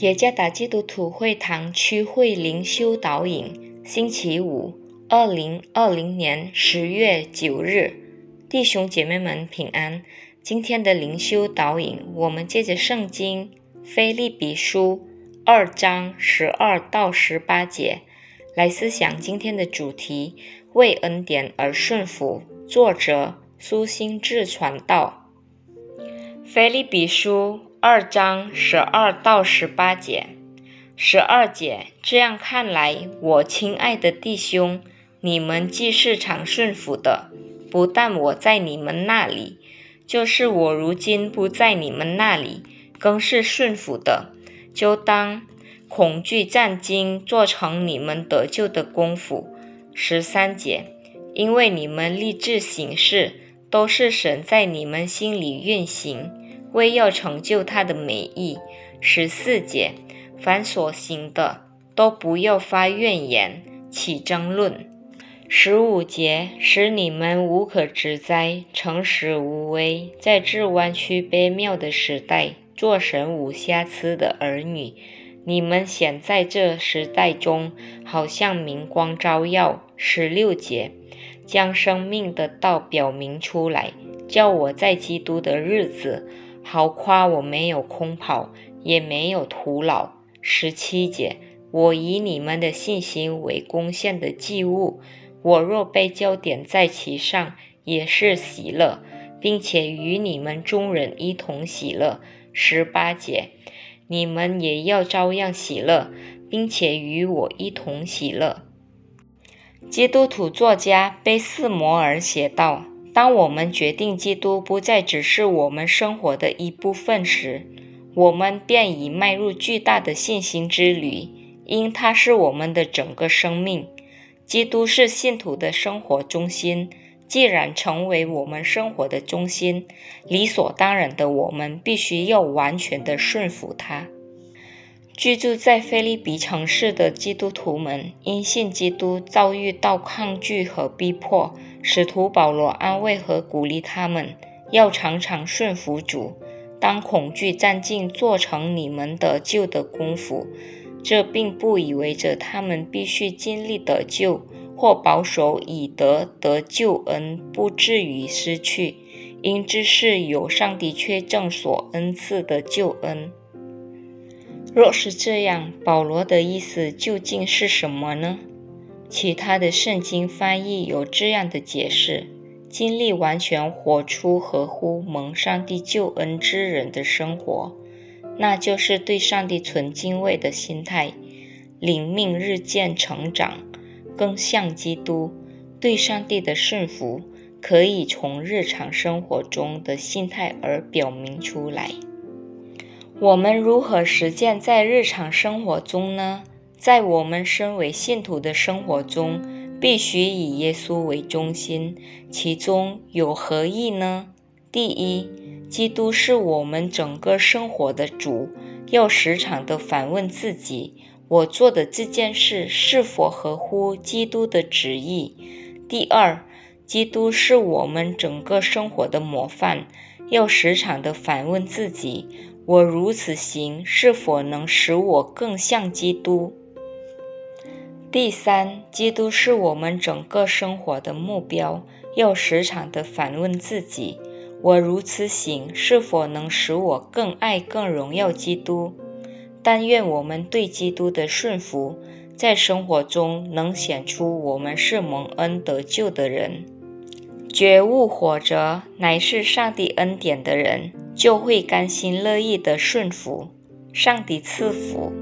耶加达基督徒会堂区会灵修导引，星期五，2020年10月9日，弟兄姐妹们平安。今天的灵修导引，我们借着圣经腓立比书2章12到18节来思想今天的主题：为恩典而顺服。作者苏心志传道。腓立比书2章12到18节，12节，这样看来，我亲爱的弟兄，你们既是常顺服的，不但我在你们那里，就是我如今不在你们那里，更是顺服的，就当恐惧战兢，做成你们得救的功夫。13节，因为你们立志行事，都是神在你们心里运行，为要成就他的美意。14节，凡所行的，都不要发怨言，起争论。15节，使你们无可指摘，诚实无畏，在这弯曲卑谬的时代，做神无瑕疵的儿女。你们显在这时代中，好像明光照耀。16节，将生命的道表明出来，叫我在基督的日子，好夸我没有空跑，也没有徒劳。17节，我以你们的信心为贡献的祭物，我若被焦点在其上，也是喜乐，并且与你们众人一同喜乐。18节，你们也要照样喜乐，并且与我一同喜乐。基督徒作家贝斯摩尔写道：当我们决定基督不再只是我们生活的一部分时，我们便已迈入巨大的信心之旅，因他是我们的整个生命。基督是信徒的生活中心，既然成为我们生活的中心，理所当然的我们必须要完全的顺服他。居住在腓立比城市的基督徒们因信基督遭遇到抗拒和逼迫，使徒保罗安慰和鼓励他们，要常常顺服主，当恐惧战兢，做成你们得救的功夫。这并不意味着他们必须尽力得救，或保守以得救恩不至于失去，因这是有上帝确证所恩赐的救恩。若是这样，保罗的意思究竟是什么呢？其他的圣经翻译有这样的解释：尽力完全活出合乎蒙上帝救恩之人的生活，那就是对上帝存敬畏的心态，灵命日渐成长，更像基督。对上帝的顺服可以从日常生活中的心态而表明出来。我们如何实践在日常生活中呢？在我们身为信徒的生活中，必须以耶稣为中心，其中有何意呢？第一，基督是我们整个生活的主，要时常地反问自己，我做的这件事是否合乎基督的旨意？第二，基督是我们整个生活的模范，要时常地反问自己，我如此行是否能使我更像基督？第三，基督是我们整个生活的目标，要时常地反问自己，我如此行是否能使我更爱更荣耀基督？但愿我们对基督的顺服，在生活中能显出我们是蒙恩得救的人。觉悟活着乃是上帝恩典的人，就会甘心乐意地顺服。上帝赐福。